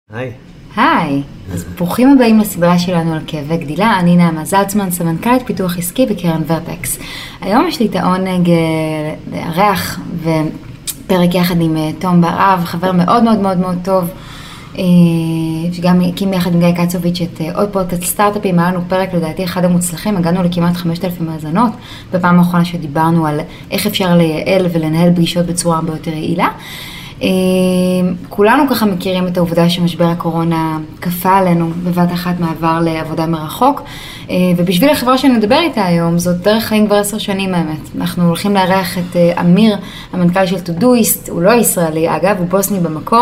היי. היי, אז ברוכים הבאים לסדרה שלנו על כאבי גדילה. אני נעמה זלצמן, סמנכ"לית פיתוח עסקי בקרן ורטקס. היום יש לי את העונג לארח ופרק יחד עם תום בר-אב, חבר מאוד מאוד מאוד מאוד טוב, שגם הקים יחד עם גיא קצוביץ' את עוד פודקאסט סטארט-אפים. היה לנו פרק לדעתי אחד המוצלחים, הגענו לכמעט 5,000 מאזנות, בפעם האחרונה שדיברנו על איך אפשר לייעל ולנהל פגישות בצורה הרבה יותר יעילה. כולנו ככה מכירים את העובדה שמשבר הקורונה כפה עלינו בבת אחת מעבר לעבודה מרחוק, ובשביל החברה שנדבר איתה היום, זאת דרך חיים כבר 10 שנים האמת. אנחנו הולכים לארח את אמיר, המנכ"ל של טודויסט. הוא לא ישראלי אגב, הוא בוסני במקור.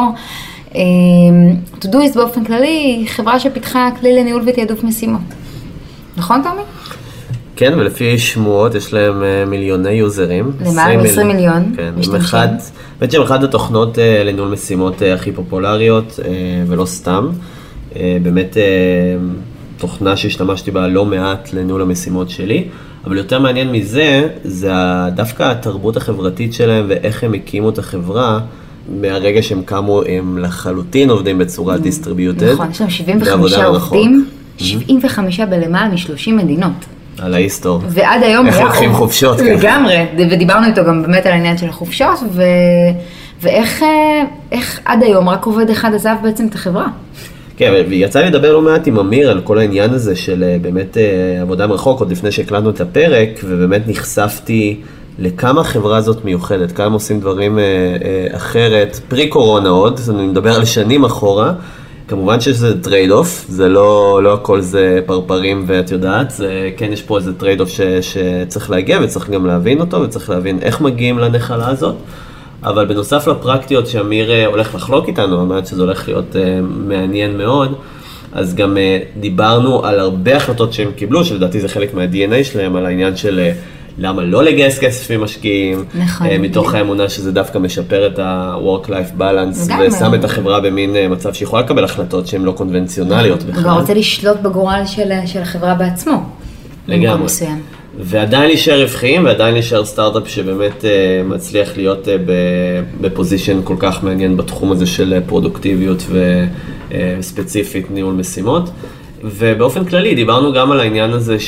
טודויסט באופן כללי היא חברה שפיתחה כלי לניהול ותעדוף משימות. נכון תומי? כן, ולפי שמועות יש להם מיליוני יוזרים. למעלה מ-20 מיליון. כן, באמת שהם אחת התוכנות לניהול משימות הכי פופולריות, ולא סתם. באמת תוכנה שהשתמשתי בה לא מעט לניהול המשימות שלי, אבל יותר מעניין מזה, זה דווקא התרבות החברתית שלהם ואיך הם הקימו את החברה. מהרגע שהם קמו הם לחלוטין עובדים בצורה דיסטריביוטד. נכון, יש להם 75 עובדים, 75 בלמעלה מ-30 מדינות. על ההיסטור. ועד היום איך לוקחים חופשות. לגמרי, ודיברנו איתו גם באמת על העניין של החופשות, ואיך עד היום רק עובד אחד עזב בעצם את החברה. כן, ויצא לי לדבר לא מעט עם אמיר על כל העניין הזה של באמת עבודה מרחוק, עוד לפני שהקלטנו את הפרק, ובאמת נחשפתי לכמה החברה הזאת מיוחדת, כמה עושים דברים אחרת, פרי קורונה עוד, אני מדבר על שנים אחורה, כמובן שזה טרייד אוף, זה לא הכל זה פרפרים ואת יודעת, זה, כן יש פה איזה טרייד אוף שצריך להגיע וצריך גם להבין אותו וצריך להבין איך מגיעים לנחלה הזאת, אבל בנוסף לפרקטיות שאמיר הולך לחלוק איתנו, אמרת שזה הולך להיות מעניין מאוד, אז גם דיברנו על הרבה החלטות שהם קיבלו, שלדעתי זה חלק מה-DNA שלהם, על העניין של למה לא לגייס כסף ממשקיעים, נכון. מתוך האמונה שזה דווקא משפר את ה-work-life balance, ושם את החברה במין מצב שיכולה לקבל החלטות שהן לא קונבנציונליות בכלל. הוא רוצה לשלוט בגורל של החברה בעצמו. לגמרי. ועדיין להישאר רווחיים, ועדיין להישאר סטארט-אפ שבאמת מצליח להיות בפוזישן כל כך מעניין בתחום הזה של פרודוקטיביות וספציפית ניהול משימות. ובאופן כללי דיברנו גם על העניין הזה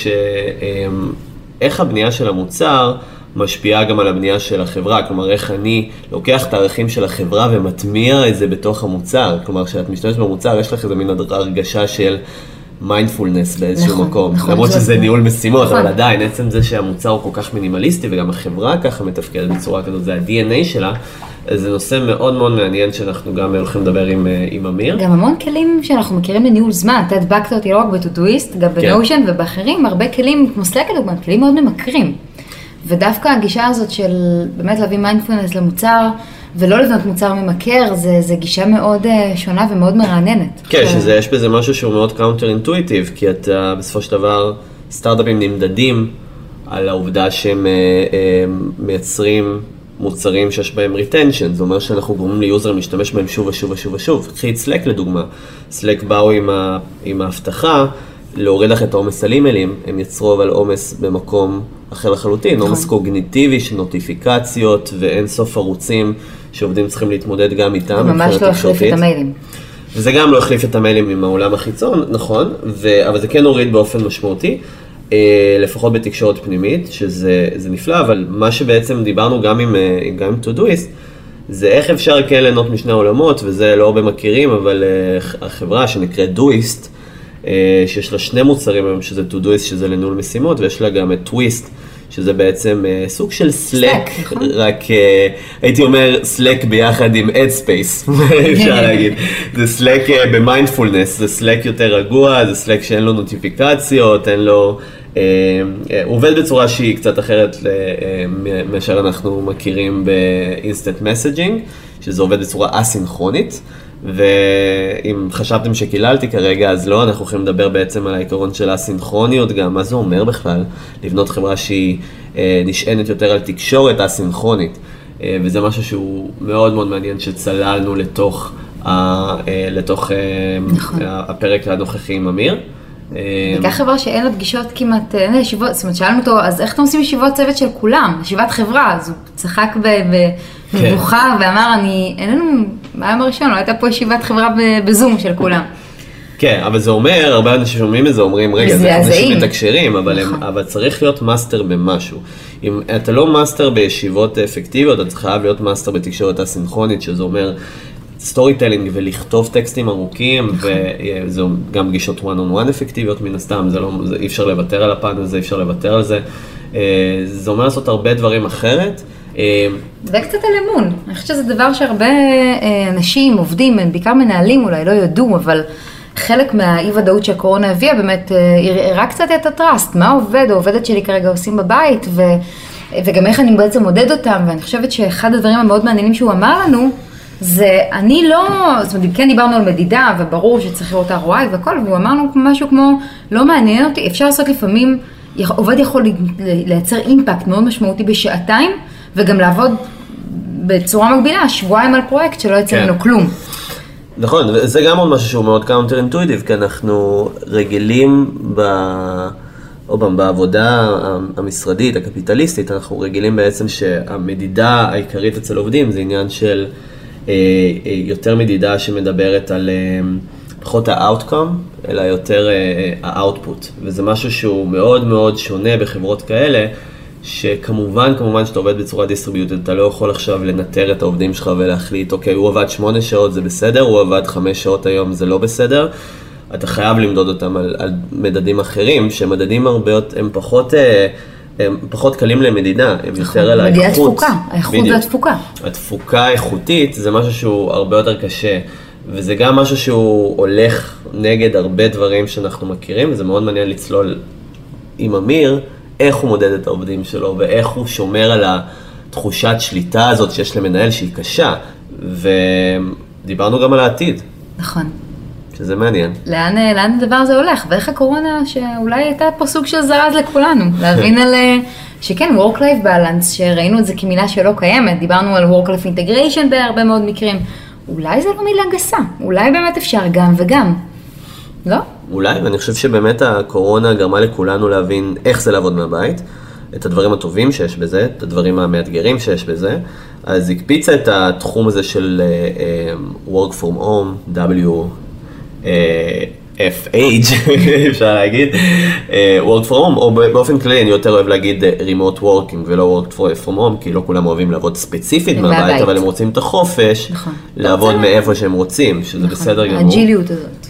איך הבנייה של המוצר משפיעה גם על הבנייה של החברה, כלומר איך אני לוקח את הערכים של החברה ומטמיע את זה בתוך המוצר, כלומר כשאת משתמשת במוצר יש לך איזה מין הרגשה של מיינדפולנס באיזשהו מקום, למרות שזה ניהול משימות, אבל עדיין עצם זה שהמוצר הוא כל כך מינימליסטי וגם החברה ככה מתפקדת בצורה כזאת, זה ה-DNA שלה, זה נושא מאוד מאוד מעניין שאנחנו גם הולכים לדבר עם אמיר. גם המון כלים שאנחנו מכירים לניהול זמן, אתה הדבקת אותי לא רק בטודויסט, גם בנושן ובאחרים, הרבה כלים, כמו סלאק לדוגמה, כלים מאוד ממכרים. ודווקא הגישה הזאת של באמת להביא מיינדפולנס למוצר, ולא לבנות מוצר ממכר, זה גישה מאוד שונה ומאוד מרעננת. כן, יש בזה משהו שהוא מאוד קאונטר אינטואיטיב, כי אתה בסופו של דבר, סטארט-אפים נמדדים על העובדה שהם מייצרים מוצרים שיש בהם retention, זה אומר שאנחנו גורמים ליוזר להשתמש בהם שוב ושוב ושוב ושוב. קחי את סלק לדוגמה, סלק באו עם ההבטחה להוריד לך את העומס על אימיילים, הם יצרו אבל עומס במקום אחר לחלוטין, עומס קוגניטיבי של נוטיפיקציות ואין סוף ערוצים שעובדים צריכים להתמודד גם איתם. ממש לא החליף את המיילים. וזה גם לא החליף את המיילים עם העולם החיצון, נכון, אבל זה כן הוריד באופן משמעותי. לפחות בתקשורת פנימית, שזה נפלא, אבל מה שבעצם דיברנו גם עם טודויסט, זה איך אפשר כן ליהנות משני העולמות, וזה לא הרבה מכירים, אבל החברה שנקראת דויסט, שיש לה 2 מוצרים היום, שזה טודויסט, שזה לניהול משימות, ויש לה גם את טוויסט, שזה בעצם סוג של סלק, רק הייתי אומר סלק ביחד עם Headspace, אפשר להגיד. זה סלק במיינדפולנס, זה סלק יותר רגוע, זה סלק שאין לו נוטיפיקציות, אין לו, הוא עובד בצורה שהיא קצת אחרת מאשר אנחנו מכירים באינסטנט מסג'ינג, שזה עובד בצורה אסינכרונית, ואם חשבתם שקיללתי כרגע, אז לא, אנחנו יכולים לדבר בעצם על העיקרון של הסינכרוניות גם, מה זה אומר בכלל? לבנות חברה שהיא נשענת יותר על תקשורת הסינכרונית, וזה משהו שהוא מאוד מאוד מעניין שצללנו לתוך הפרק הנוכחי עם אמיר. בעיקר חברה שאין לה פגישות כמעט, אין לה ישיבות, זאת אומרת, שאלנו אותו, אז איך אתם עושים ישיבות צוות של כולם? ישיבת חברה, אז הוא צחק במבוכה ואמר, אין לנו ביום הראשון, לא הייתה פה ישיבת חברה בזום של כולם. כן, אבל זה אומר, הרבה אנשים שומעים את זה, אומרים, רגע, זה אנשים מתקשרים, אבל צריך להיות מאסטר במשהו. אם אתה לא מאסטר בישיבות אפקטיביות, אתה חייב להיות מאסטר בתקשורת הסינכרונית, שזה אומר סטורי טלינג ולכתוב טקסטים ארוכים, וזה גם גישות one on one אפקטיביות מן הסתם, אי אפשר לוותר על הפן הזה, אי אפשר לוותר על זה. זה אומר לעשות הרבה דברים אחרת. זה קצת על אמון. אני חושבת שזה דבר שהרבה אנשים, עובדים, בעיקר מנהלים אולי, לא יודעו, אבל חלק מהאי-ודאות שהקורונה הביאה באמת הראה קצת את הטראסט, מה עובד או עובדת שלי כרגע עושים בבית, וגם איך אני בעצם מודד אותם, ואני חושבת שאחד הדברים המאוד מעניינים שהוא אמר לנו, זה אני לא, זאת אומרת, כן דיברנו על מדידה, וברור שצריך לראות ROI והכל, והוא אמר לנו משהו כמו, לא מעניין אותי, אפשר לעשות לפעמים, עובד יכול לייצר אימפקט מאוד משמעותי בשעתיים, וגם לעבוד בצורה מקבילה, שבועיים על פרויקט שלא יצא ממנו כלום. נכון, וזה גם עוד משהו שהוא מאוד קאונטר אינטואיטיב, כי אנחנו רגילים בעבודה המשרדית, הקפיטליסטית, אנחנו רגילים בעצם שהמדידה העיקרית אצל עובדים זה עניין של יותר מדידה שמדברת על פחות ה-outcome, אלא יותר ה-output, וזה משהו שהוא מאוד מאוד שונה בחברות כאלה, שכמובן שאתה עובד בצורה דיסטריביוטית, אתה לא יכול עכשיו לנטר את העובדים שלך ולהחליט, אוקיי, הוא עבד 8 שעות, זה בסדר, הוא עבד 5 שעות היום, זה לא בסדר. אתה חייב למדוד אותם על מדדים אחרים, שמדדים הרבה, הם פחות קלים למדידה, הם יותר על האיכות. האיכות והתפוקה. התפוקה האיכותית זה משהו שהוא הרבה יותר קשה, וזה גם משהו שהוא הולך נגד הרבה דברים שאנחנו מכירים, וזה מאוד מעניין לצלול עם אמיר, איך הוא מודד את העובדים שלו, ואיך הוא שומר על התחושת שליטה הזאת שיש למנהל שהיא קשה, ודיברנו גם על העתיד. נכון. שזה מעניין. לאן הדבר הזה הולך, ואיך הקורונה שאולי הייתה פה סוג של זרז לכולנו, להבין על שכן, work-life balance, שראינו את זה כמילה שלא קיימת, דיברנו על work-life integration בהרבה מאוד מקרים, אולי זה לא מילה גסה, אולי באמת אפשר גם וגם, לא? אולי, ואני חושב שבאמת הקורונה גרמה לכולנו להבין איך זה לעבוד מהבית, את הדברים הטובים שיש בזה, את הדברים המאתגרים שיש בזה, אז הקפיצה את התחום הזה של work from home, WFH, אפשר להגיד, work from home, או באופן כללי אני יותר אוהב להגיד remote working ולא work from home, כי לא כולם אוהבים לעבוד ספציפית מהבית, אבל הם רוצים את החופש, לעבוד מאיפה שהם רוצים, שזה בסדר גמור. האג'יליות הזאת.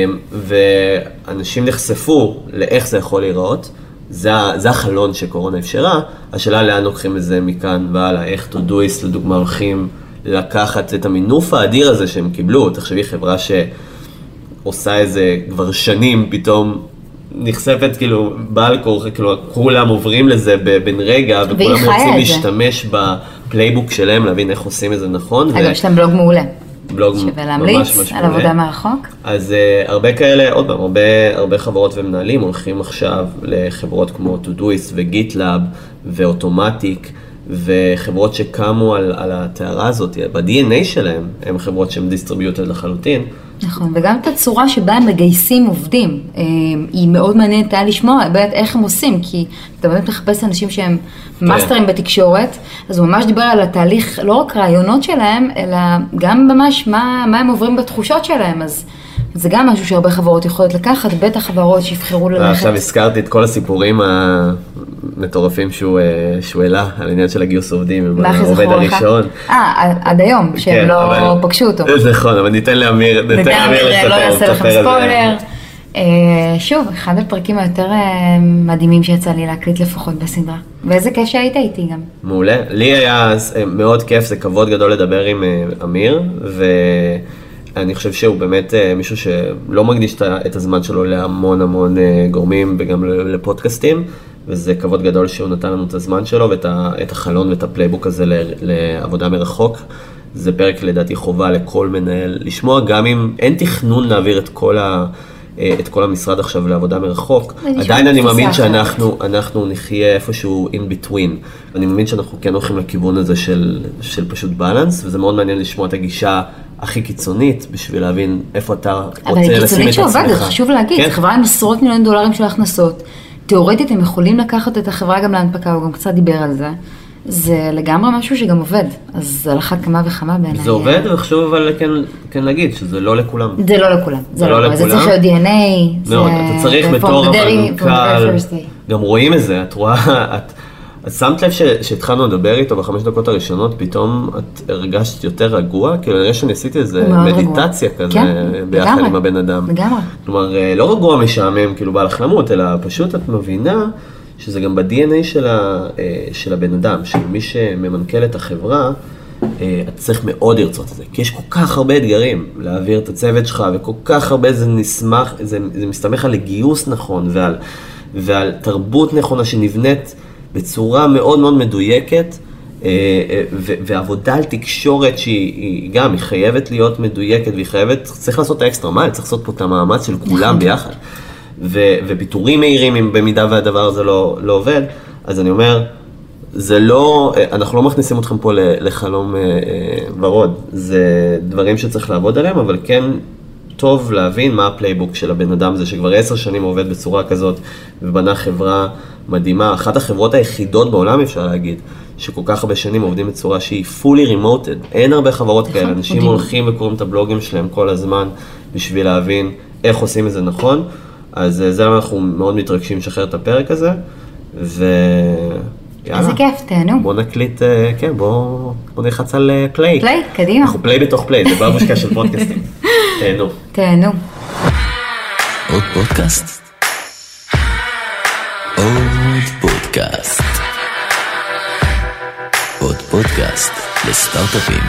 ואנשים נחשפו לאיך זה יכול להיראות, זה החלון שקורונה אפשרה, השאלה לאן לוקחים את זה מכאן והלאה, איך Todoist לדוגמה הולכים לקחת את המינוף האדיר הזה שהם קיבלו, תחשבי חברה שעושה איזה כבר שנים פתאום נחשפת כאילו בעל כורחה, כאילו כולם עוברים לזה בן רגע וכולם רוצים להשתמש בפלייבוק שלהם להבין איך עושים את זה נכון. אגב, יש להם בלוג מעולה. בלוג שווה להמליץ על עבודה מרחוק. אז הרבה כאלה, עוד פעם, הרבה חברות ומנהלים הולכים עכשיו לחברות כמו Todoist וגיטלאב ואוטומטיק, וחברות שקמו על התארה הזאת, ב-DNA שלהם, הם חברות שהן דיסטריביוטד לחלוטין. נכון, וגם את הצורה שבה הם מגייסים עובדים, היא מאוד מעניינת היה לשמוע איך הם עושים, כי אתה באמת מחפש אנשים שהם מאסטרים בתקשורת, אז הוא ממש דיבר על התהליך, לא רק רעיונות שלהם, אלא גם ממש מה הם עוברים בתחושות שלהם, אז זה גם משהו שהרבה חברות יכולות לקחת, בטח חברות שיבחרו ללכת. עכשיו הזכרתי את כל הסיפורים המטורפים שהוא העלה, על העניין של הגיוס עובדים, עם העובד הראשון. עד היום, שהם לא פגשו אותו. נכון, אבל ניתן לאמיר לא יעשה לכם ספוילר. שוב, אחד הפרקים היותר מדהימים שיצא לי להקליט לפחות בסדרה. ואיזה כיף שהיית איתי גם. מעולה. לי היה מאוד כיף, זה כבוד גדול לדבר עם אמיר, אני חושב שהוא באמת מישהו שלא מקדיש את הזמן שלו להמון המון גורמים וגם לפודקאסטים, וזה כבוד גדול שהוא נתן לנו את הזמן שלו ואת החלון ואת הפלייבוק הזה לעבודה מרחוק. זה פרק לדעתי חובה לכל מנהל לשמוע, גם אם אין תכנון להעביר את כל המשרד עכשיו לעבודה מרחוק. עדיין אני מאמין שאנחנו נחיה איפשהו in between. אני מאמין שאנחנו כן הולכים לכיוון הזה של פשוט בלנס, וזה מאוד מעניין לשמוע את הגישה הכי קיצונית, בשביל להבין איפה אתה רוצה לשים את עצמך. אבל קיצונית שעובדת, חשוב להגיד, חברה עם עשרות מיליון דולרים של הכנסות, תיאורטית הם יכולים לקחת את החברה גם להנפקה, הוא גם קצת דיבר על זה. זה לגמרי משהו שגם עובד, אז על אחת כמה וכמה בעיניי. זה עובד, וחשוב אבל כן להגיד שזה לא לכולם. זה לא לכולם. זה לא לכולם. זה צריך להיות DNA. מאוד, אתה צריך בתור המנכ"ל, גם רואים את זה, את רואה, את שמת לב שהתחלנו לדבר איתו ב5 דקות הראשונות, פתאום את הרגשת יותר רגוע, כאילו נראה שאני עשיתי איזה מדיטציה כזה ביחד עם הבן אדם. לגמרי. כלומר, לא רגוע משעמם, כאילו בא לך למות, אלא פשוט את מבינה שזה גם ב-DNA של הבן אדם, של מי שממנכ"ל את החברה, אתה צריך מאוד לרצות את זה, כי יש כל כך הרבה אתגרים להעביר את הצוות שלך, וכל כך הרבה זה מסתמך על גיוס נכון, ועל תרבות נכונה שנבנית בצורה מאוד מאוד מדויקת, ועבודה על תקשורת שהיא גם, היא חייבת להיות מדויקת, והיא חייבת, צריך לעשות את האקסטרה מייל, צריך לעשות פה את המאמץ של כולם ביחד. ופיתורים מהירים, אם במידה והדבר הזה לא עובד, אז אני אומר, זה לא, אנחנו לא מכניסים אתכם פה לחלום ורוד, זה דברים שצריך לעבוד עליהם, אבל כן טוב להבין מה הפלייבוק של הבן אדם הזה, שכבר 10 שנים עובד בצורה כזאת, ובנה חברה מדהימה, אחת החברות היחידות בעולם אפשר להגיד, שכל כך הרבה שנים עובדים בצורה שהיא fully remoted, אין הרבה חברות כאלה, אנשים הולכים וקוראים את הבלוגים שלהם כל הזמן, בשביל להבין איך עושים את זה נכון, אז זה למה אנחנו מאוד מתרגשים לשחרר את הפרק הזה, ויאללה. איזה כיף, תהנו. בוא נקליט, כן, בוא נלחץ על פליי. פליי, קדימה. אנחנו פליי בתוך פליי, זה בבושקה של פודקאסטים. תהנו. תהנו. עוד פודקאסט? עוד פודקאסט. עוד פודקאסט לסטארט-אפים.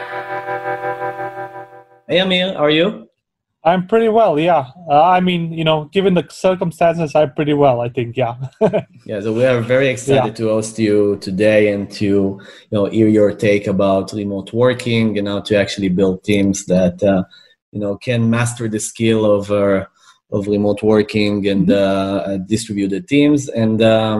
Hey Amir, how are you? I'm pretty well, yeah. I mean, given the circumstances, I'm pretty well, I think, yeah. Yeah, so we are very excited to host you today and to, hear your take about remote working and how to actually build teams that, can master the skill of remote working and distributed teams. And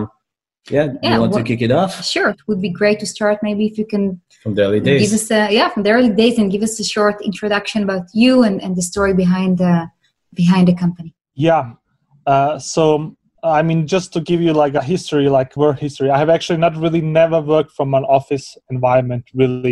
you want to kick it off? Sure, it would be great to start maybe if you can from the early days. Give us from the early days and give us a short introduction about you and the story behind the company. Yeah. So, I mean, just to give you like a history, like work history, I have actually never worked from an office environment, really.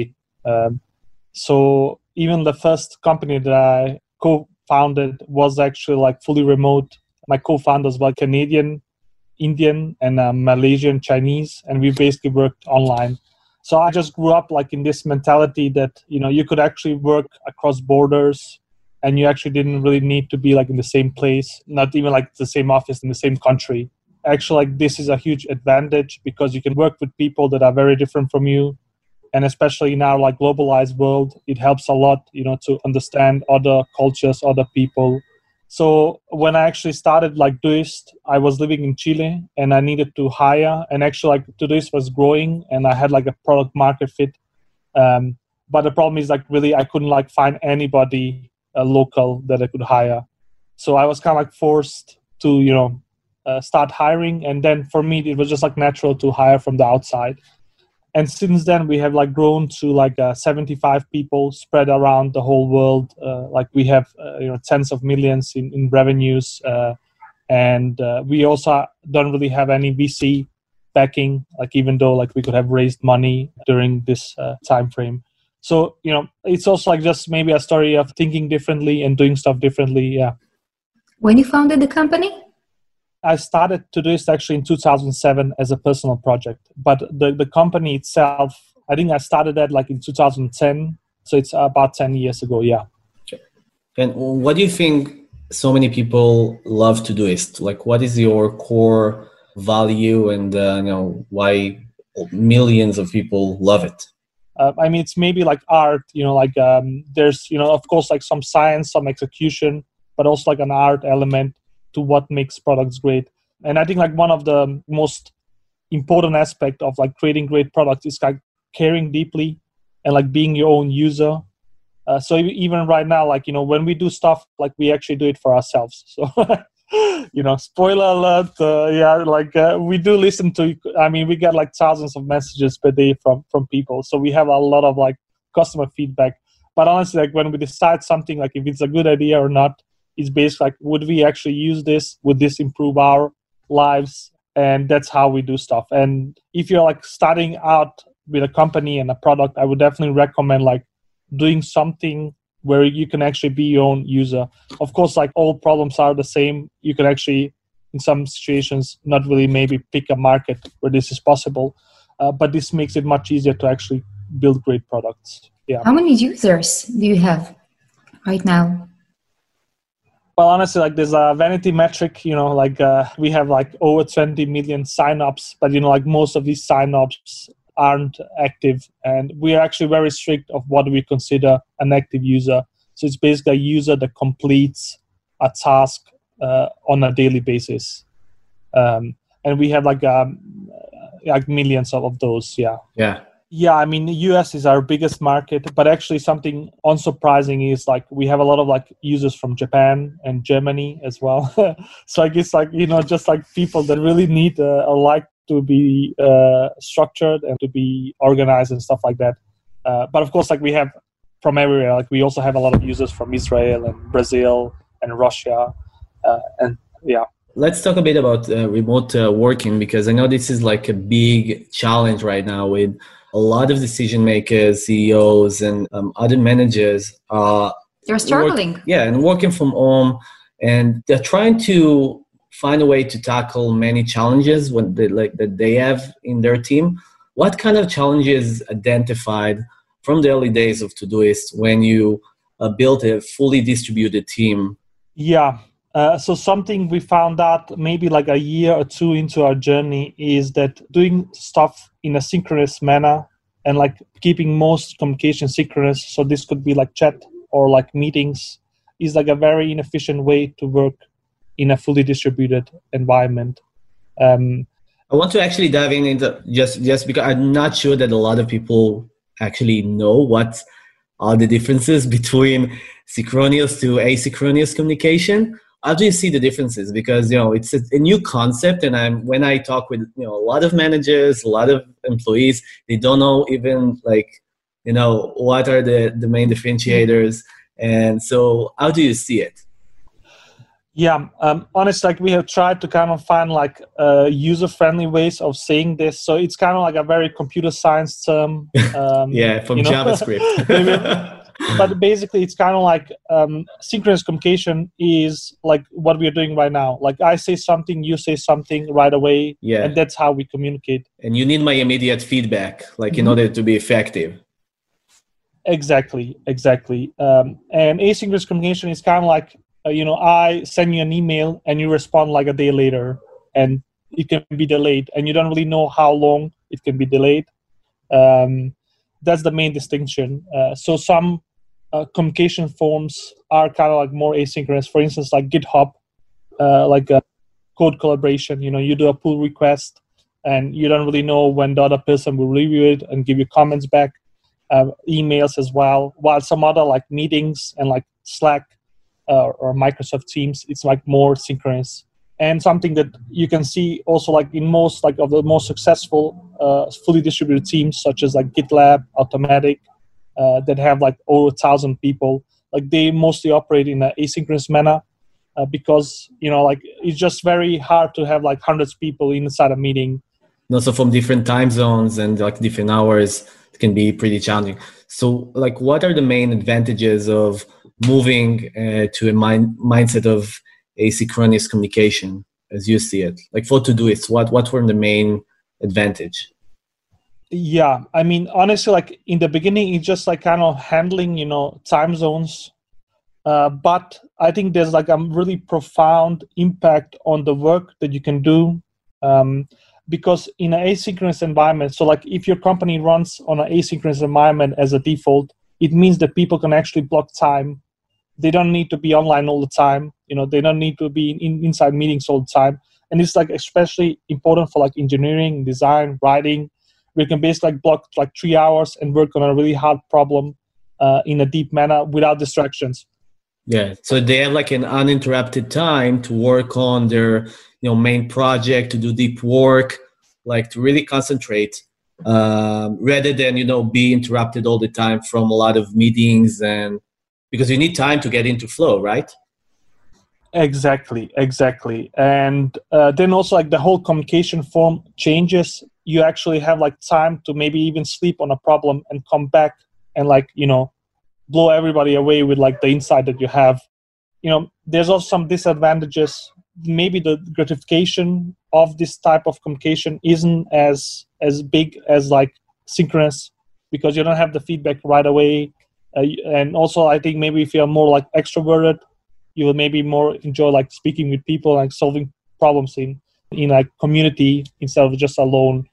So even the first company that I co-founded was actually like fully remote. My co-founders were Canadian, Indian, and Malaysian, Chinese, and we basically worked online. So I just grew up like in this mentality that, you could actually work across borders and you actually didn't really need to be like in the same place, not even like the same office in the same country. Actually, like this is a huge advantage because you can work with people that are very different from you. And especially in our like globalized world, it helps a lot, to understand other cultures, other people. So when I actually started like Doist, I was living in Chile and I needed to hire, and actually like Doist was growing and I had like a product market fit. But the problem is like really I couldn't like find anybody local that I could hire. So I was kind of like forced to, start hiring. And then for me, it was just like natural to hire from the outside. And since then, we have like grown to like 75 people spread around the whole world. Like we have, tens of millions in revenues. And we also don't really have any VC backing, like even though like we could have raised money during this time frame. So, it's also like just maybe a story of thinking differently and doing stuff differently. Yeah. When you founded the company? I started to do this actually in 2007 as a personal project, but the company itself, I think I started that like in 2010. So it's about 10 years ago. Yeah. Okay. And what do you think so many people love to do is like, what is your core value and, why millions of people love it? I mean, it's maybe like art, there's, of course, like some science, some execution, but also like an art element to what makes products great. And I think like one of the most important aspect of like creating great products is like caring deeply and like being your own user. So even right now, like, when we do stuff, like we actually do it for ourselves. So, spoiler alert. We do listen to, we get like thousands of messages per day from people. So we have a lot of like customer feedback. But honestly, like when we decide something, like if it's a good idea or not, it's basically like, would we actually use this? Would this improve our lives? and that's how we do stuff. And if you're like starting out with a company and a product, I would definitely recommend like doing something where you can actually be your own user. Of course, like all problems are the same. You can actually, in some situations, not really maybe pick a market where this is possible, but this makes it much easier to actually build great products. Yeah. How many users do you have right now? Well, honestly, like there's a vanity metric, like we have like over 20 million signups, but like most of these signups aren't active, and we are actually very strict of what we consider an active user. So it's basically a user that completes a task on a daily basis, and we have like millions of those. Yeah, I mean, the US is our biggest market, but actually something unsurprising is like we have a lot of like users from Japan and Germany as well. So I guess like, just like people that really need like to be structured and to be organized and stuff like that. But of course, like we have from everywhere, like we also have a lot of users from Israel and Brazil and Russia. And yeah. Let's talk a bit about remote working, because I know this is like a big challenge right now with a lot of decision makers, CEOs, and other managers. They're struggling. And working from home, and they're trying to find a way to tackle many challenges that they have in their team. What kind of challenges identified from the early days of Todoist when you built a fully distributed team? Yeah. So something we found out maybe like a year or two into our journey is that doing stuff in a synchronous manner and like keeping most communication synchronous, so this could be like chat or like meetings, is like a very inefficient way to work in a fully distributed environment. I want to actually dive into just because I'm not sure that a lot of people actually know what are the differences between synchronous to asynchronous communication. How do you see the differences? Because, it's a new concept, and when I talk with, a lot of managers, a lot of employees, they don't know even what are the main differentiators. And so how do you see it? Yeah, honestly, like we have tried to kind of find like user-friendly ways of saying this. So it's kind of like a very computer science term. From JavaScript. But basically, it's kind of like synchronous communication is like what we are doing right now. Like I say something, you say something right away, and that's how we communicate. And you need my immediate feedback, in order to be effective. Exactly. And asynchronous communication is kind of like, I send you an email and you respond like a day later, and it can be delayed, and you don't really know how long it can be delayed. That's the main distinction. So some communication forms are kind of like more asynchronous. For instance, like GitHub, like a code collaboration. You do a pull request, and you don't really know when the other person will review it and give you comments back. Emails as well. While some other like meetings and like Slack or Microsoft Teams, it's like more synchronous. And something that you can see also like in most like of the most successful fully distributed teams, such as like GitLab, Automatic, that have like over 1,000 people, like they mostly operate in an asynchronous manner because like it's just very hard to have like hundreds of people inside a meeting. Also from different time zones and like different hours, it can be pretty challenging. So like what are the main advantages of moving to a mindset of asynchronous communication as you see it? Like for Todoist, what were the main advantage? Yeah, I mean, honestly, like in the beginning, it's just like kind of handling, time zones. But I think there's like a really profound impact on the work that you can do. Because in an asynchronous environment, so like if your company runs on an asynchronous environment as a default, it means that people can actually block time. They don't need to be online all the time. They don't need to be inside meetings all the time. And it's like especially important for like engineering, design, writing. We can basically like block like 3 hours and work on a really hard problem in a deep manner without distractions. Yeah, so they have like an uninterrupted time to work on their main project, to do deep work, like to really concentrate rather than be interrupted all the time from a lot of meetings, and because you need time to get into flow, right? Exactly. And then also like the whole communication form changes. You actually have like time to maybe even sleep on a problem and come back and like, blow everybody away with like the insight that you have. There's also some disadvantages. Maybe the gratification of this type of communication isn't as big as like synchronous, because you don't have the feedback right away. And also I think maybe if you're more like extroverted, you will maybe more enjoy like speaking with people, like solving problems in like community instead of just alone.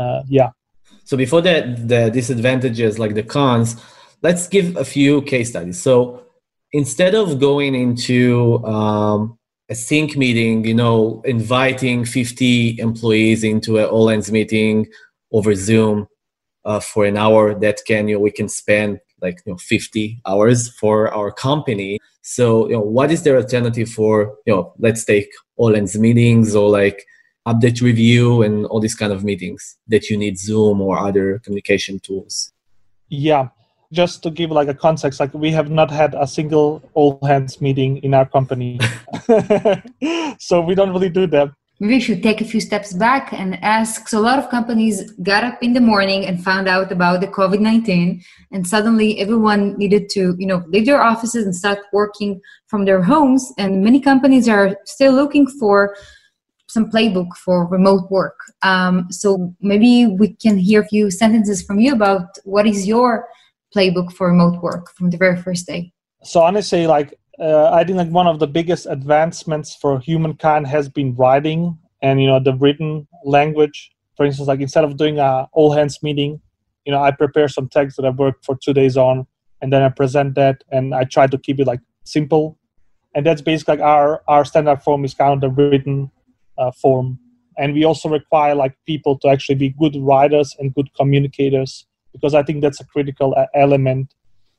So before the disadvantages, like the cons, let's give a few case studies. So instead of going into a sync meeting, inviting 50 employees into an all hands meeting over Zoom for an hour, that we can spend like 50 hours for our company. So what is their alternative for let's take all hands meetings or like update review and all these kind of meetings that you need Zoom or other communication tools? Yeah, just to give like a context, like we have not had a single all hands meeting in our company. So we don't really do that. Maybe we should take a few steps back and ask. So a lot of companies got up in the morning and found out about the COVID-19, and suddenly everyone needed to, leave their offices and start working from their homes. And many companies are still looking for some playbook for remote work. So maybe we can hear a few sentences from you about what is your playbook for remote work from the very first day. So honestly, I think like one of the biggest advancements for humankind has been writing and, the written language. For instance, like instead of doing a all hands meeting, I prepare some text that I worked for 2 days on, and then I present that, and I try to keep it like simple. And that's basically like our standard form is kind of the written form. And we also require like people to actually be good writers and good communicators, because I think that's a critical element.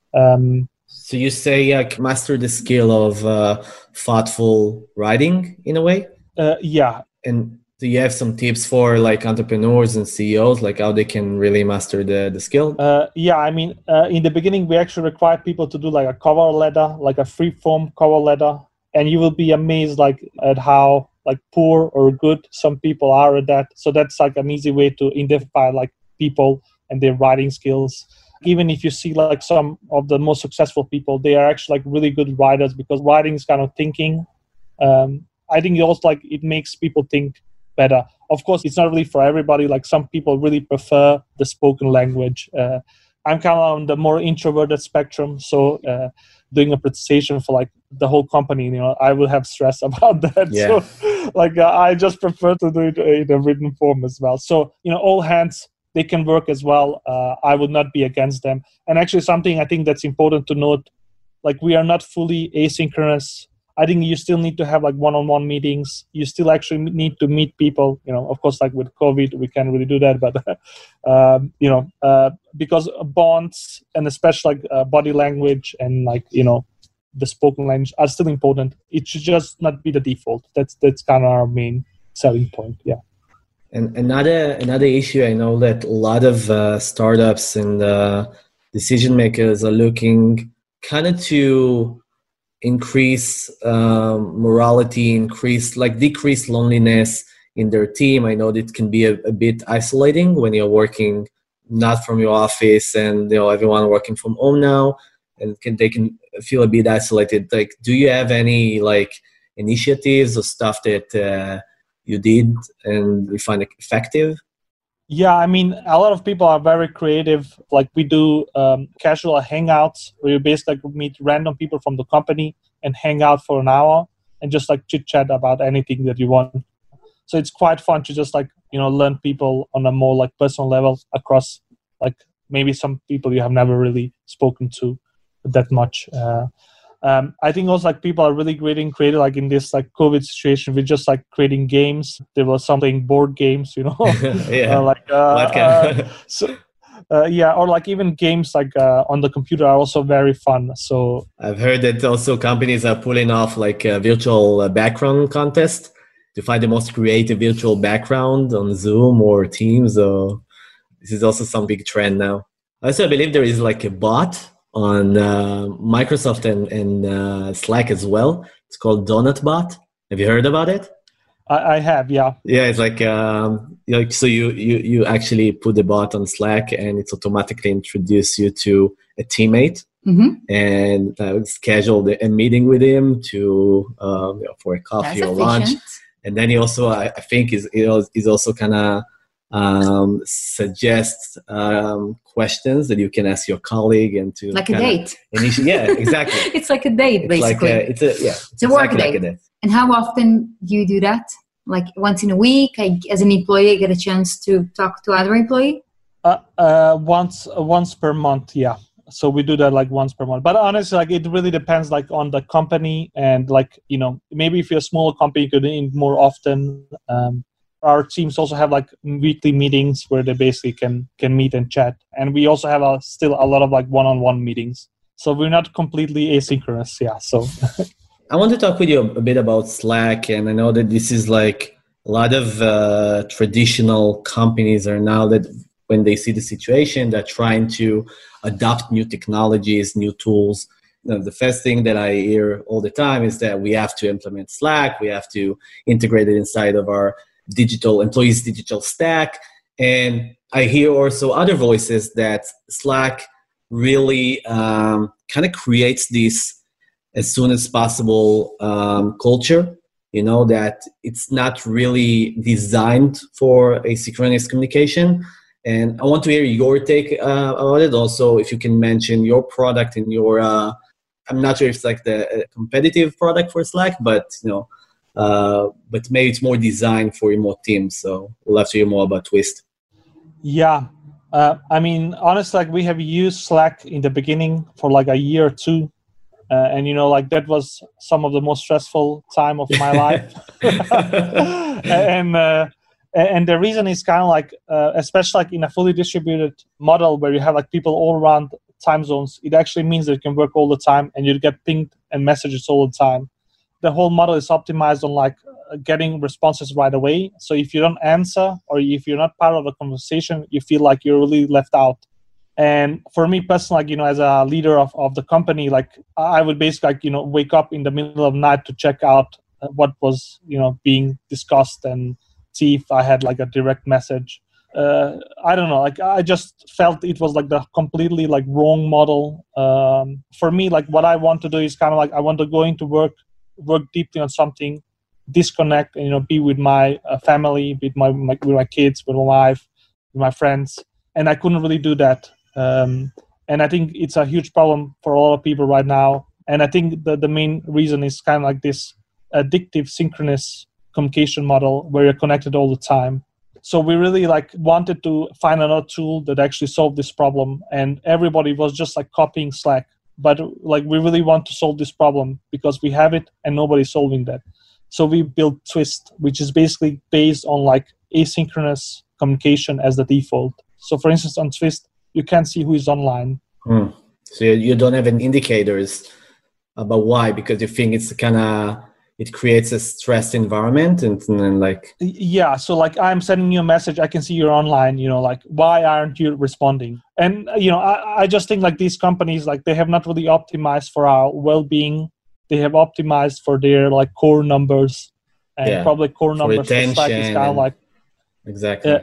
So you say master the skill of thoughtful writing in a way? Yeah. And do you have some tips for like entrepreneurs and CEOs, like how they can really master the skill? In the beginning, we actually require people to do like a cover letter, like a free form cover letter. And you will be amazed like at how like poor or good some people are at that. So that's like an easy way to identify like people and their writing skills. Even if you see like some of the most successful people, they are actually like really good writers, because writing is kind of thinking. I think it also like it makes people think better. Of course, it's not really for everybody. Like some people really prefer the spoken language. I'm kind of on the more introverted spectrum. So doing a presentation for like the whole company, I will have stress about that. Yeah. So I just prefer to do it in a written form as well. So, all hands, they can work as well. I would not be against them. And actually something I think that's important to note, like we are not fully asynchronous. I think you still need to have like one-on-one meetings. You still actually need to meet people. Of course, like with COVID, we can't really do that. But, because bonds and especially like body language and like, the spoken language are still important. It should just not be the default. That's kind of our main selling point. Yeah. And another issue, I know that a lot of startups and decision makers are looking kind of to increase morality, decrease loneliness in their team. I know that it can be a bit isolating when you're working not from your office and everyone working from home now, and they can feel a bit isolated. Like, do you have any like initiatives or stuff that you did and you find it effective? Yeah, I mean, a lot of people are very creative. Like we do casual hangouts where you basically meet random people from the company and hang out for an hour and just like chit chat about anything that you want. So it's quite fun to just like, learn people on a more like personal level across like maybe some people you have never really spoken to that much. I think also like people are really creative like in this like COVID situation with just like creating games. There was something board games, Yeah. Or like even games like on the computer are also very fun. So I've heard that also companies are pulling off like a virtual background contest to find the most creative virtual background on Zoom or Teams. So this is also some big trend now. Also, I believe there is like a bot on Microsoft and Slack as well It's called DonutBot. Have you heard about it? I have, yeah. Yeah, it's like so you actually put the bot on Slack and it's automatically introduce you to a teammate and schedule a meeting with him to for a coffee That's or lunch. efficient. And then he also, I think, is also kind of suggests questions that you can ask your colleague and to Like a date. Yeah, exactly. It's like a date, basically. It's a work exactly date. like a date. And how often do you do that? Like once in a week, as an employee, I get a chance to talk to other employee? Once per month, yeah. So we do that like once per month. But honestly, like it really depends like on the company and like, maybe if you're a smaller company, you could do it more often. Our teams also have like weekly meetings where they basically can meet and chat. And we also have still a lot of like one-on-one meetings. So we're not completely asynchronous, yeah. So I want to talk with you a bit about Slack, and I know that this is like a lot of traditional companies are now that when they see the situation, they're trying to adopt new technologies, new tools. The first thing that I hear all the time is that we have to implement Slack, we have to integrate it inside of our employees' digital stack. And I hear also other voices that Slack really kind of creates this as soon as possible culture, that it's not really designed for asynchronous communication. And I want to hear your take about it. Also, if you can mention your product and your, I'm not sure if it's like the competitive product for Slack, but but maybe it's more designed for remote teams. So we'll have to hear more about Twist. Yeah. I mean, honestly, like we have used Slack in the beginning for like a year or two. And like that was some of the most stressful time of my life. And the reason is kind of like, especially like in a fully distributed model where you have like people all around time zones, it actually means that you can work all the time and you get pinged and messages all the time. The whole model is optimized on like getting responses right away. So if you don't answer or if you're not part of the conversation, you feel like you're really left out. And for me personally, like, as a leader of the company, like I would basically like, wake up in the middle of the night to check out what was, being discussed and see if I had like a direct message. I don't know, like I just felt it was like the completely like wrong model. For me, like what I want to do is kind of like I want to go into work deeply on something, disconnect and be with my family, with my kids, with my wife, with my friends. And I couldn't really do that. And I think it's a huge problem for a lot of people right now. And I think the main reason is kind of like this addictive synchronous communication model where you're connected all the time. So we really like wanted to find another tool that actually solved this problem. And everybody was just like copying Slack. But like we really want to solve this problem because we have it and nobody's solving that. So we built Twist, which is basically based on like asynchronous communication as the default. So for instance, on Twist, you can't see who is online. So you don't have any indicators about why, because you think it's it creates a stressed environment and like... Yeah, so like I'm sending you a message, I can see you're online, like why aren't you responding? And, I just think like these companies, like they have not really optimized for our well-being. They have optimized for their like core numbers and probably core numbers for Slack is kind of like... Exactly.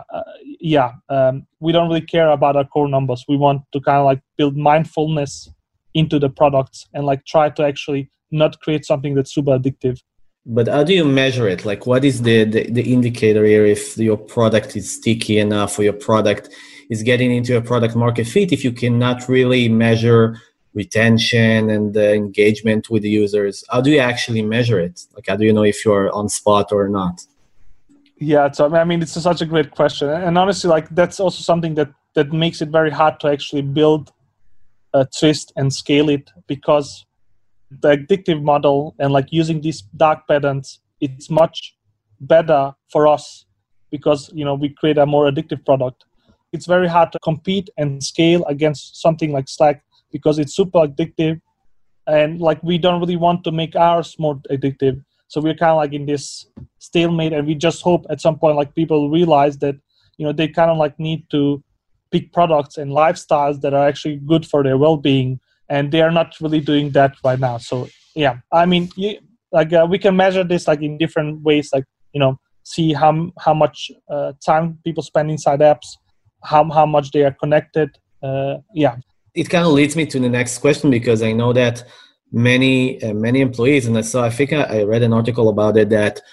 We don't really care about our core numbers. We want to kind of like build mindfulness into the products and like try to actually not create something that's super addictive. But how do you measure it? Like what is the indicator here if your product is sticky enough or your product is getting into a product market fit if you cannot really measure retention and the engagement with the users? How do you actually measure it? Like how do you know if you're on spot or not? Yeah, so I mean, it's such a great question. And honestly, like that's also something that makes it very hard to actually build a Twist and scale it, because the addictive model and like using these dark patterns, it's much better for us because, we create a more addictive product. It's very hard to compete and scale against something like Slack because it's super addictive. And like, we don't really want to make ours more addictive. So we're kind of like in this stalemate, and we just hope at some point like people realize that, they kind of like need to pick products and lifestyles that are actually good for their well-being. And they are not really doing that right now. So Yeah, I mean, we can measure this like in different ways, like, see how much time people spend inside apps, how much they are connected. Yeah. It kind of leads me to the next question, because I know that many employees, and I think I read an article about it, that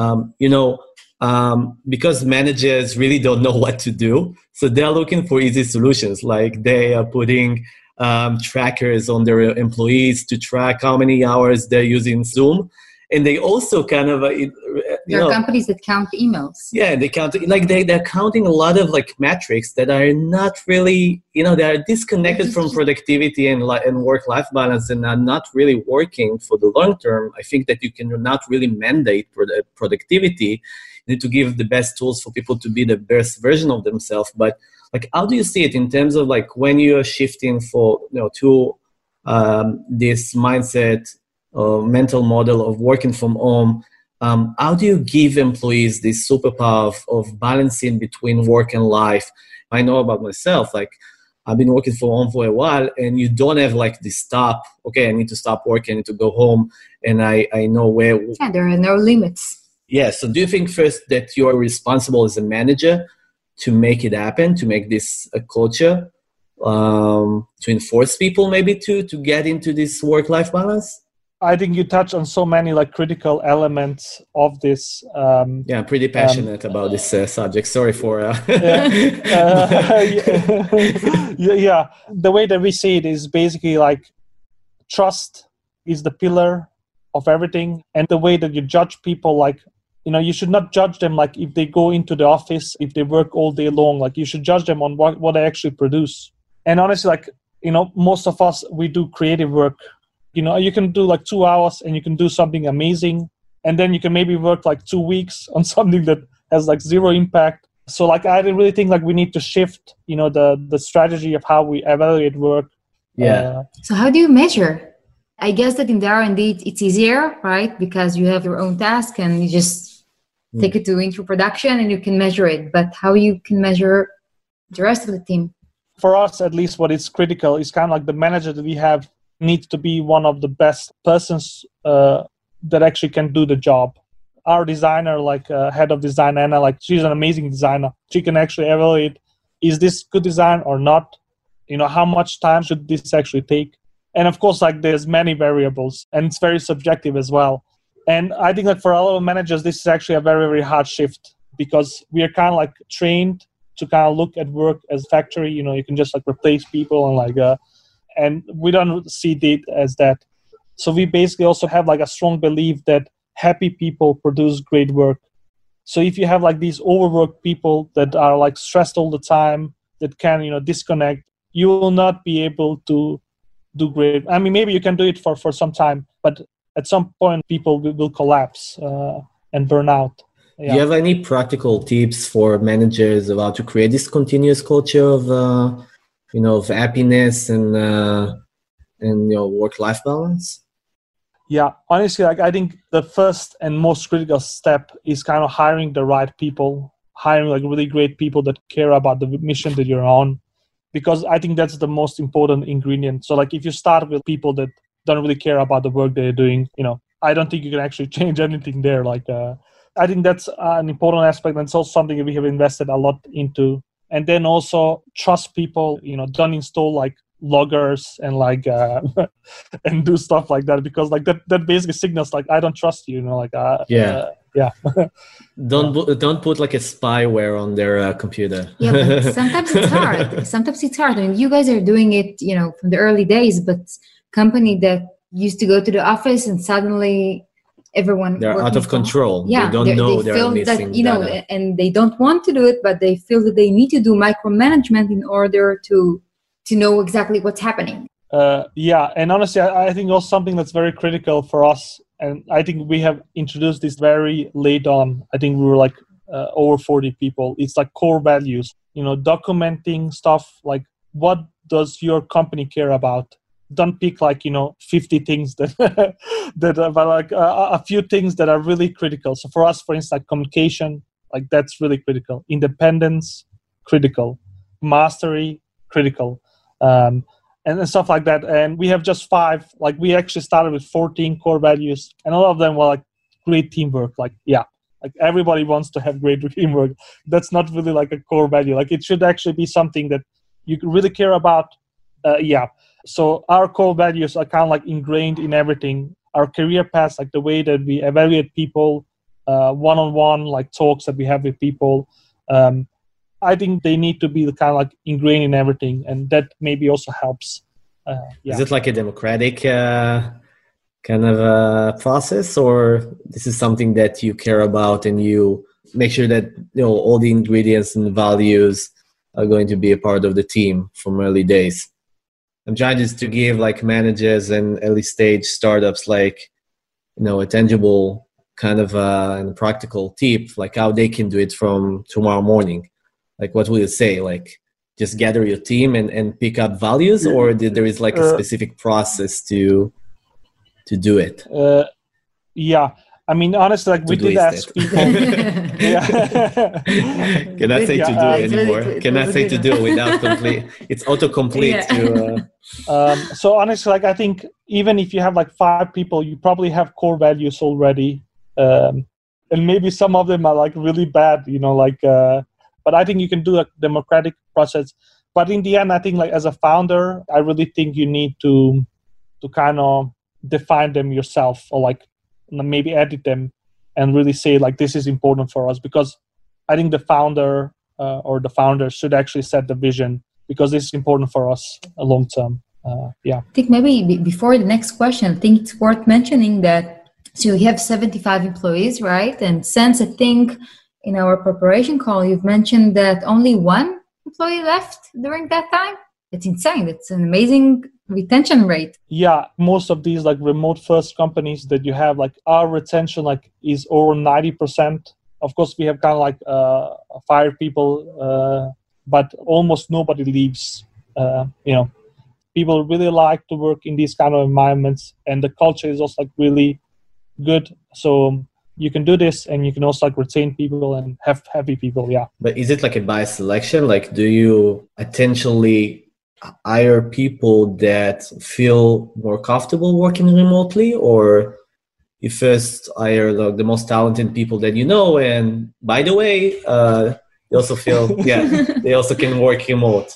because managers really don't know what to do, so they're looking for easy solutions. Like they are putting trackers on their employees to track how many hours they're using Zoom. And they also kind of, there are companies that count emails. Yeah, they count, like they're counting a lot of like metrics that are not really, they are disconnected from productivity and work-life balance, and are not really working for the long term. I think that you cannot really mandate productivity. You need to give the best tools for people to be the best version of themselves. But like, how do you see it in terms of like when you are shifting to this mindset, mental model of working from home? How do you give employees this superpower of balancing between work and life? I know about myself, like I've been working from home for a while, and you don't have like this stop. Okay, I need to stop working, I need to go home, and I know where. Yeah, there are no limits. Yeah, so do you think first that you are responsible as a manager to make it happen, to make this a culture, to enforce people maybe to get into this work-life balance? I think you touch on so many like critical elements of this. I'm pretty passionate about this subject. Sorry for. Yeah, the way that we see it is basically like trust is the pillar of everything, and the way that you judge people, like, you should not judge them like if they go into the office, if they work all day long. Like you should judge them on what they actually produce. And honestly, like, most of us, we do creative work. You can do like 2 hours and you can do something amazing. And then you can maybe work like 2 weeks on something that has like zero impact. So like, I really think like we need to shift, the strategy of how we evaluate work. Yeah. So how do you measure? I guess that in the R&D, it's easier, right? Because you have your own task and you just take it into production and you can measure it. But how you can measure the rest of the team? For us, at least, what is critical is kind of like the manager that we have needs to be one of the best persons that actually can do the job. Our designer, like head of design, Anna, like she's an amazing designer. She can actually evaluate, is this good design or not? How much time should this actually take? And of course, like there's many variables, and it's very subjective as well. And I think like for a lot of managers, this is actually a very, very hard shift, because we are kind of like trained to kind of look at work as factory. You can just like replace people and like and we don't see it as that. So we basically also have like a strong belief that happy people produce great work. So if you have like these overworked people that are like stressed all the time, that can, disconnect, you will not be able to do great. I mean, maybe you can do it for some time, but at some point people will collapse and burn out. Yeah. Do you have any practical tips for managers of how to create this continuous culture of of happiness and work-life balance? Yeah, honestly, like I think the first and most critical step is kind of hiring the right people, hiring like really great people that care about the mission that you're on, because I think that's the most important ingredient. So like if you start with people that don't really care about the work they're doing, I don't think you can actually change anything there. Like I think that's an important aspect, and it's also something that we have invested a lot into. And then also trust people, don't install like loggers and like and do stuff like that, because like that basically signals like I don't trust you, Don't put like a spyware on their computer. Yeah, but sometimes it's hard. I mean, you guys are doing it, from the early days, but company that used to go to the office and suddenly everyone they're out of control. Yeah, they don't know they they're feel missing that data. and they don't want to do it, but they feel that they need to do micromanagement in order to know exactly what's happening. And honestly, I think also something that's very critical for us, and I think we have introduced this very late on. I think we were like over 40 people. It's like core values, documenting stuff like, what does your company care about? Don't pick like 50 things that but like a few things that are really critical. So for us, for instance, like communication, like that's really critical. Independence, critical. Mastery, critical. and stuff like that. And we have just 5. Like we actually started with 14 core values, and all of them were like great teamwork. Like like everybody wants to have great teamwork. That's not really like a core value. Like it should actually be something that you really care about. So our core values are kind of like ingrained in everything. Our career paths, like the way that we evaluate people, one-on-one like talks that we have with people. I think they need to be kind of like ingrained in everything, and that maybe also helps. Is it like a democratic kind of process, or this is something that you care about and you make sure that all the ingredients and values are going to be a part of the team from early days? I'm trying just to give like managers and early stage startups like a tangible kind of and practical tip, like how they can do it from tomorrow morning. Like what will you say? Like just gather your team and pick up values, or there is like a specific process to do it? I mean, honestly, like we did ask people. Cannot say to do anymore. Cannot say to do without complete. It's autocomplete. So honestly, like I think even if you have like 5 people, you probably have core values already, and maybe some of them are like really bad, but I think you can do a democratic process. But in the end, I think like as a founder, I really think you need to kind of define them yourself, or like maybe edit them and really say like this is important for us, because I think the founder or the founders should actually set the vision, because this is important for us long term. I think maybe before the next question, I think it's worth mentioning that so you have 75 employees, right? And since I think in our preparation call, you've mentioned that only 1 employee left during that time. It's insane. It's an amazing retention rate. Yeah, most of these like remote first companies that you have, like our retention like is over 90%. Of course, we have kind of like fired people, but almost nobody leaves. People really like to work in these kind of environments, and the culture is also like really good. So you can do this, and you can also like retain people and have happy people. Yeah. But is it like a bias selection? Like, do you intentionally hire people that feel more comfortable working remotely, or you first hire like the most talented people that you know, and by the way, they also feel they also can work remote?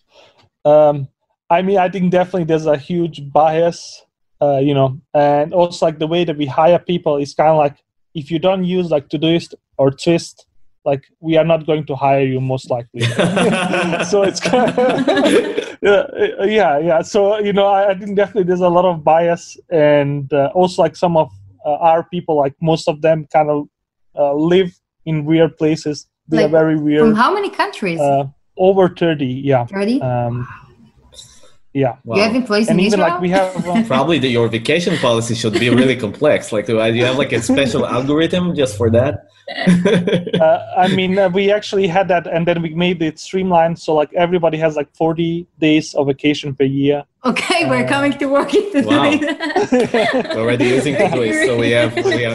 I mean, I think definitely there's a huge bias, and also like the way that we hire people is kind of like, if you don't use like Todoist or Twist, like we are not going to hire you most likely. So it's kind of, yeah. So, I think definitely there's a lot of bias, and also like some of our people, like most of them kind of live in weird places. They are very weird. From how many countries? Over 30, yeah. 30? Yeah. Wow. You have employees and in even Israel? Like we have probably your vacation policy should be really complex. Like, do you have like a special algorithm just for that? I mean, we actually had that, and then we made it streamlined. So like everybody has like 40 days of vacation per year. Okay, we're coming to work in Todoist. Wow. We're already using Todoist, so we have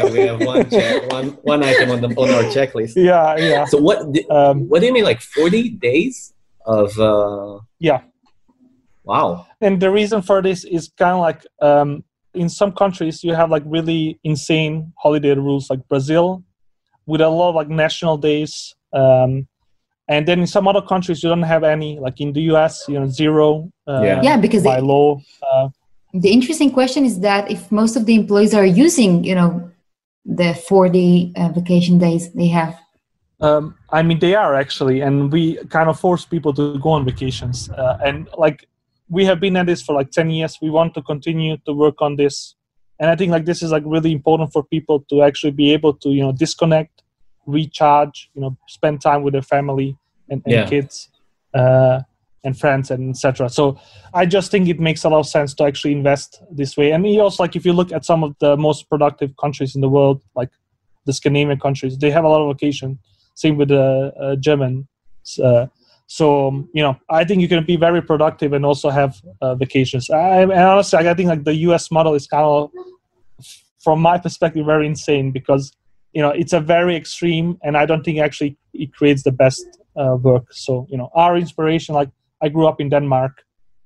one item on our checklist. Yeah. So what do you mean, like 40 days of? Yeah. Wow. And the reason for this is kind of like in some countries you have like really insane holiday rules, like Brazil, with a lot of like national days. And then in some other countries you don't have any, like in the US, 0 because by law. The interesting question is that if most of the employees are using, the 40 vacation days they have. I mean, they are actually, and we kind of force people to go on vacations. And like, we have been at this for like 10 years. We want to continue to work on this. And I think like this is like really important for people to actually be able to, disconnect, recharge, spend time with their family and kids and friends and etc. So I just think it makes a lot of sense to actually invest this way. And also like if you look at some of the most productive countries in the world, like the Scandinavian countries, they have a lot of vacation. Same with the German. So, I think you can be very productive and also have vacations. And honestly, I think like the US model is kind of, from my perspective, very insane because, it's a very extreme, and I don't think actually it creates the best work. So, our inspiration, like I grew up in Denmark,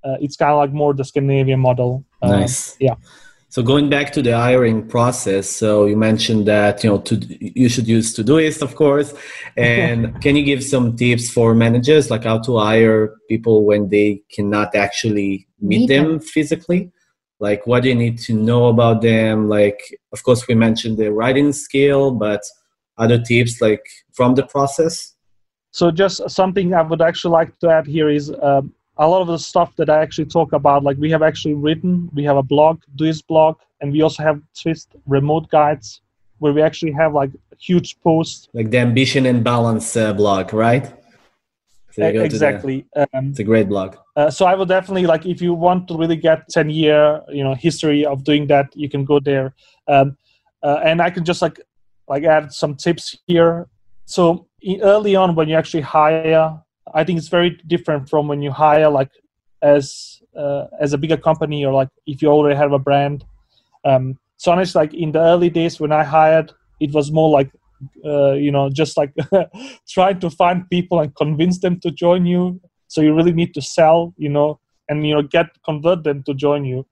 it's kind of like more the Scandinavian model. Nice. Yeah. So going back to the hiring process, so you mentioned that you should use Todoist, of course. And can you give some tips for managers, like how to hire people when they cannot actually meet them physically? Like, what do you need to know about them? Like, of course, we mentioned the writing skill, but other tips like from the process? So just something I would actually like to add here is a lot of the stuff that I actually talk about, like we have actually written, we have a blog, Doist blog, and we also have Twist remote guides where we actually have like huge posts. Like the Ambition and Balance blog, right? So exactly. It's a great blog. So I would definitely, like, if you want to really get 10-year, history of doing that, you can go there. And I can just like add some tips here. So early on, when you actually hire, I think it's very different from when you hire like as a bigger company or like if you already have a brand. So honestly, like in the early days when I hired, it was more like just like trying to find people and convince them to join you. So you really need to sell, and convert them to join you.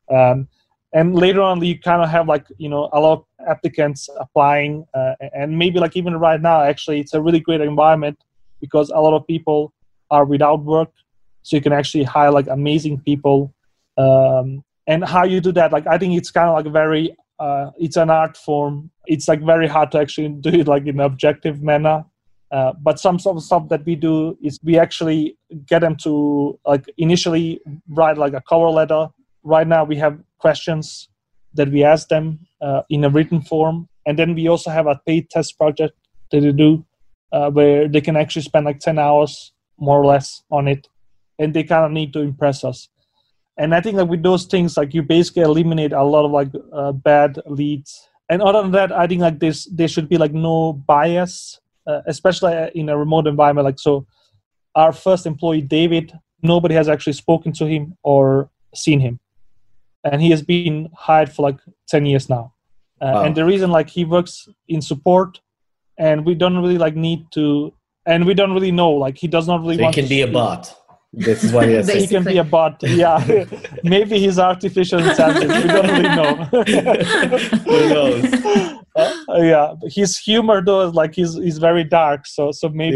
And later on, you kind of have like a lot of applicants applying, and maybe like even right now, actually, it's a really great environment because a lot of people are without work, so you can actually hire like amazing people. And how you do that, like I think it's kind of like very, it's an art form. It's like very hard to actually do it like in an objective manner. But some sort of stuff that we do is we actually get them to like initially write like a cover letter. Right now we have questions that we ask them in a written form. And then we also have a paid test project that they do where they can actually spend like 10 hours more or less on it. And they kind of need to impress us. And I think that with those things, like you basically eliminate a lot of like bad leads. And other than that, I think like there should be like no bias, especially in a remote environment. Like, so our first employee, David, nobody has actually spoken to him or seen him. And he has been hired for like 10 years now. Wow. And the reason like he works in support and we don't really like need to, and we don't really know, like he does not really want to. He can be a bot. This is what he has said. He can be a bot, yeah. Maybe he's artificial intelligence. We don't really know. Who knows? Yeah, his humor though is like he's very dark. So maybe.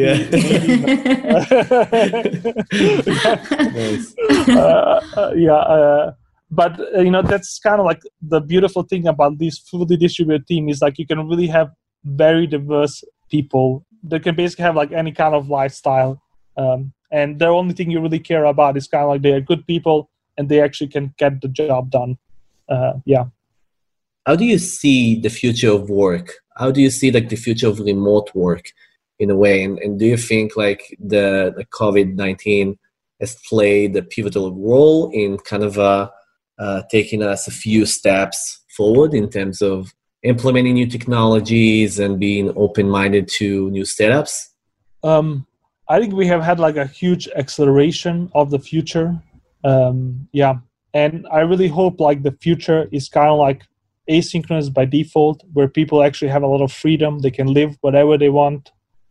Yeah. But that's kind of like the beautiful thing about this fully distributed team is like you can really have very diverse people that can basically have like any kind of lifestyle. And the only thing you really care about is kind of like they are good people and they actually can get the job done. Yeah. How do you see the future of work? How do you see like the future of remote work in a way? And do you think like the COVID-19 has played a pivotal role in kind of taking us a few steps forward in terms of implementing new technologies and being open-minded to new setups? I think we have had like a huge acceleration of the future. Yeah. And I really hope like the future is kind of like asynchronous by default, where people actually have a lot of freedom. They can live whatever they want,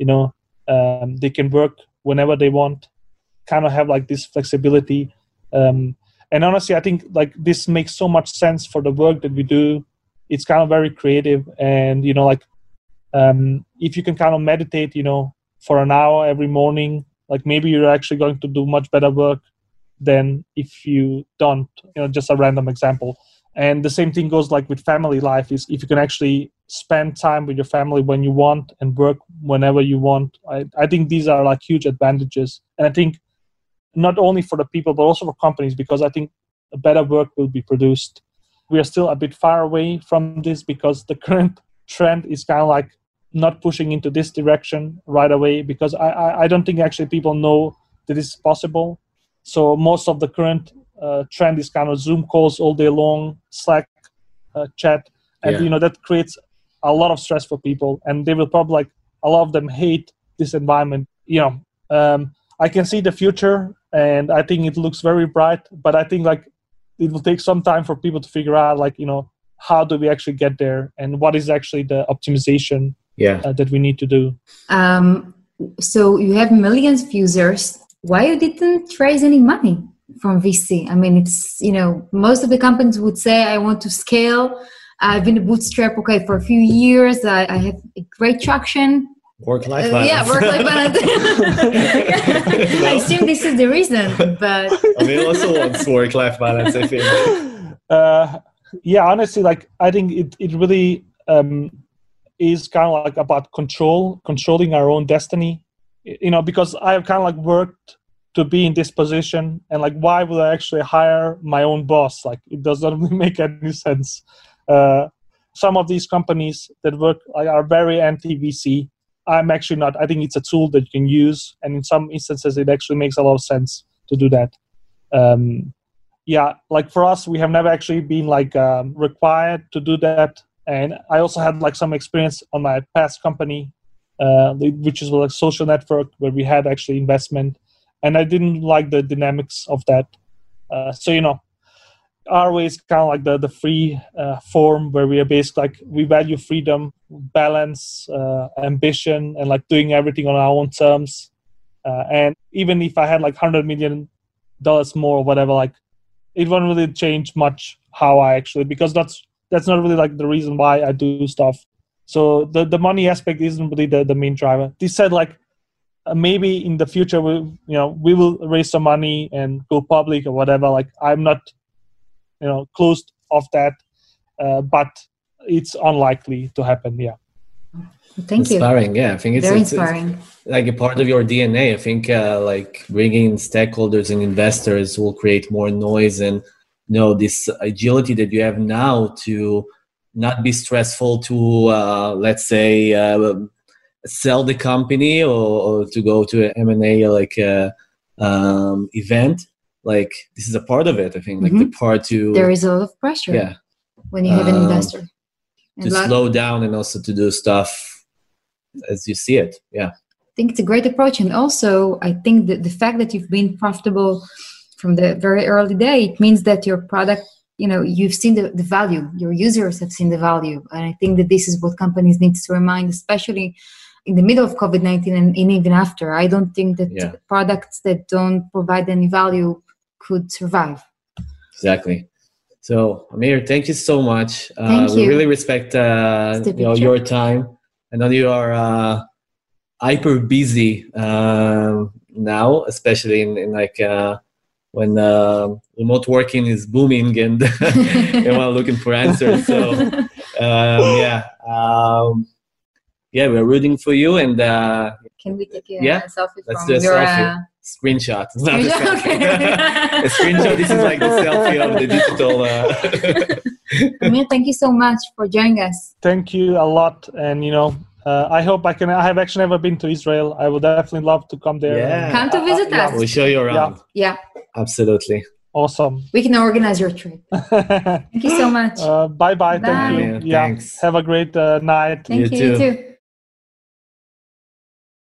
they can work whenever they want, kind of have like this flexibility. And honestly, I think like this makes so much sense for the work that we do. It's kind of very creative. And, if you can kind of meditate, for an hour every morning, like maybe you're actually going to do much better work than if you don't, just a random example. And the same thing goes like with family life is if you can actually spend time with your family when you want and work whenever you want. I think these are like huge advantages. And I think not only for the people, but also for companies, because I think a better work will be produced. We are still a bit far away from this because the current trend is kind of like not pushing into this direction right away, because I don't think actually people know that it's possible. So most of the current trend is kind of Zoom calls all day long, Slack chat, and that creates a lot of stress for people, and they will probably like a lot of them hate this environment. I can see the future, and I think it looks very bright, but I think like it will take some time for people to figure out like how do we actually get there, and what is actually the optimization that we need to do. So you have millions of users. Why you didn't raise any money? from VC. I mean, it's, most of the companies would say, I want to scale. I've been a bootstrap, for a few years. I have a great traction. Work-life balance. Yeah, work-life balance. I assume this is the reason, but... Amir also wants work-life balance, I think. Honestly, I think it really is kind of about controlling our own destiny. Because I have kind of worked to be in this position, and why would I actually hire my own boss? It does not really make any sense. Some of these companies that work are very anti-VC. I'm actually not. I think it's a tool that you can use, and in some instances, it actually makes a lot of sense to do that. For us, we have never actually been required to do that. And I also had some experience on my past company, which is a social network where we had actually investment, and I didn't like the dynamics of that. Our way is kind of the free form where we are basically we value freedom, balance, ambition, and doing everything on our own terms. And even if I had $100 million more or whatever, it won't really change much how I actually, because that's not really the reason why I do stuff. So the money aspect isn't really the main driver. This said, maybe in the future we will raise some money and go public or whatever. I'm not closed off that, but it's unlikely to happen. Yeah. Thank you. Inspiring. Yeah, I think it's very inspiring. It's a part of your DNA. I think bringing in stakeholders and investors will create more noise, and this agility that you have now to not be stressful to let's say sell the company or to go to an M&A event. This is a part of it. I think the part to there is a lot of pressure when you have an investor to slow down and also to do stuff as you see it. I think it's a great approach. And also I think that the fact that you've been profitable from the very early day, it means that your product, you've seen the value, your users have seen the value. And I think that this is what companies need to remind, especially in the middle of COVID-19 and even after. I don't think that products that don't provide any value could survive. Exactly. So Amir, thank you so much. Thank you. We really respect your time. I know you are hyper busy now, especially in when remote working is booming and everyone looking for answers. So we're rooting for you. And can we take a selfie let's from do a your selfie. Screenshot. It's not a selfie. A screenshot. This is the selfie of the digital. Amir, thank you so much for joining us. Thank you a lot, and I hope I can. I have actually never been to Israel. I would definitely love to come there. Yeah. Come to visit us. We'll show you around. Yeah. Absolutely. Awesome. We can organize your trip. Thank you so much. Bye. Bye. Thank you. Thanks. Have a great night. Thank you. You too.